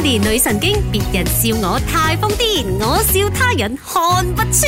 Melody 女神經，別人笑我太瘋癲，我笑他人看不穿。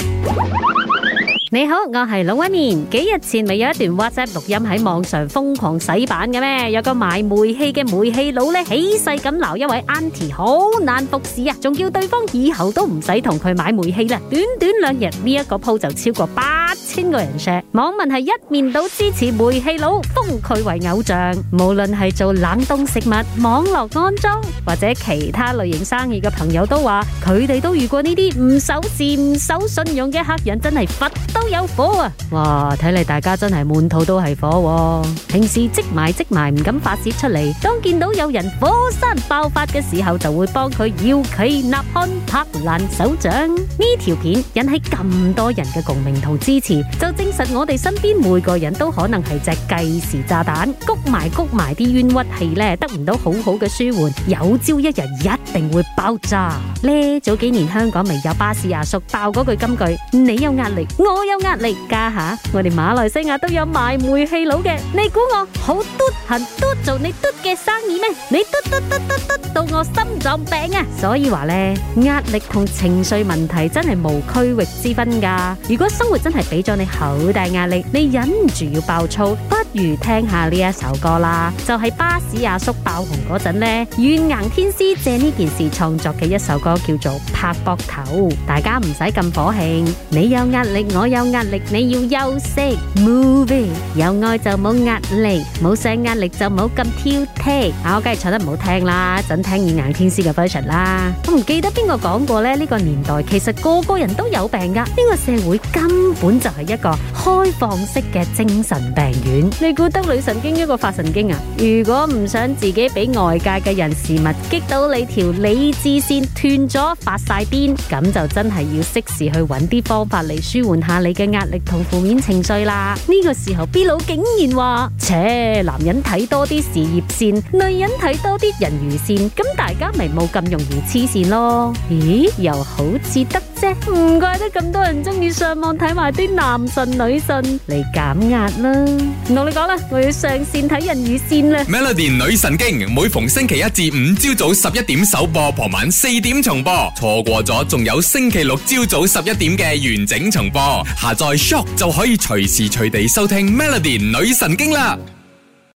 你好，我係龍紋敏。幾日前咪有一段 WhatsApp 錄音喺網上瘋狂洗版嘅咩？有個賣煤氣嘅煤氣佬咧，起勢咁鬧一位 Auntie 好難服侍啊，仲叫對方以後都唔使同佢買煤氣啦。短短2日呢一個 po 就超過8000個人 share， 網民係一面倒支持煤氣佬，封佢為偶像。無論係做冷凍食物、網絡安裝或者其他類型生意嘅朋友都話，佢哋都遇過呢啲唔守時、唔守信用嘅客人，真係佛都有火啊！哇，睇嚟大家真係滿肚都係火喎。平時積埋唔敢發洩出嚟，當見到有人火山爆發嘅時候，就會幫佢搖旗吶喊、拍爛手掌。呢條片引起咁多人嘅共鳴同支持，就證實我哋身邊每個人都可能係隻計時炸彈，谷埋啲冤屈氣咧，得唔到好好嘅舒緩，有朝一日一定會爆炸咧。早幾年香港咪有巴士阿叔爆嗰句金句：你有壓力，我有壓力。家下我哋馬來西亞都有賣煤氣佬嘅，你估我好嘟痕嘟做你嘟嘅生意咩？你嘟到我心臟病啊！所以話咧，壓力同情緒問題真係無區域之分噶。如果生活真係俾咗你好大壓力，你忍唔住要爆粗，不如聽下呢一首歌啦。就係巴士阿叔爆紅嗰陣咧，軟硬天師借呢件事創作嘅一首歌，叫做《拍膊頭》。大家唔使咁火興，你有壓力，我有壓力，你要休息。Move it， 有愛就冇壓力，冇上壓力就冇咁挑剔。我梗係唱得唔好聽啦，陣聽軟硬天師嘅 version 啦。我唔記得邊個講過咧，呢個年代其實個個人都有病噶，呢個社會根本就係一個開放式嘅精神病院。你估得女神經一個發神經啊？如果唔想自己俾外界嘅人事物激到你條理智線斷咗發晒癲，咁就真係要適時去揾啲方法嚟舒緩下你嘅壓力同負面情緒啦。呢個時候 B 佬竟然話：切，男人睇多啲事業線，女人睇多啲人魚線，咁大家咪冇咁容易黐線咯。咦，又好似得啫，唔怪得咁多人中意上網睇埋啲男神女神嚟減壓啦。唔同你講啦，我要上線睇人魚線啦。 Melody 女神經每逢星期1至5朝早11點首播，傍晚4點重播，錯過咗仲有星期6朝早11點嘅完整重播。下載 Shock 就可以隨時隨地收聽 Melody 女神經啦。